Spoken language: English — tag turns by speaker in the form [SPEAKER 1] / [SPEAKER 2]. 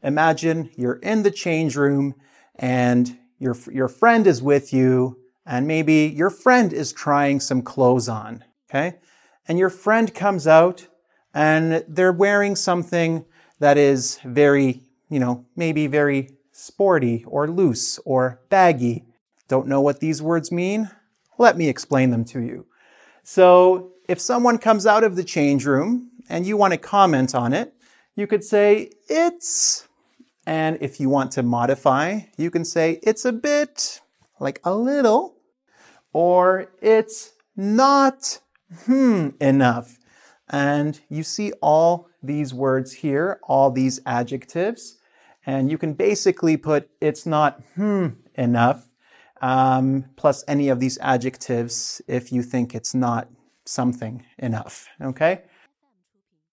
[SPEAKER 1] imagine you're in the change room and your friend is with you, and maybe your friend is trying some clothes on, okay? And your friend comes out and they're wearing something that is very, maybe very sporty or loose or baggy. Don't know what these words mean? Let me explain them to you. So if someone comes out of the change room and you want to comment on it, you could say, it's, and if you want to modify, you can say, it's a bit, like a little, or it's not enough. And you see all these words here, all these adjectives, and you can basically put it's not enough, plus any of these adjectives if you think it's not something enough, okay?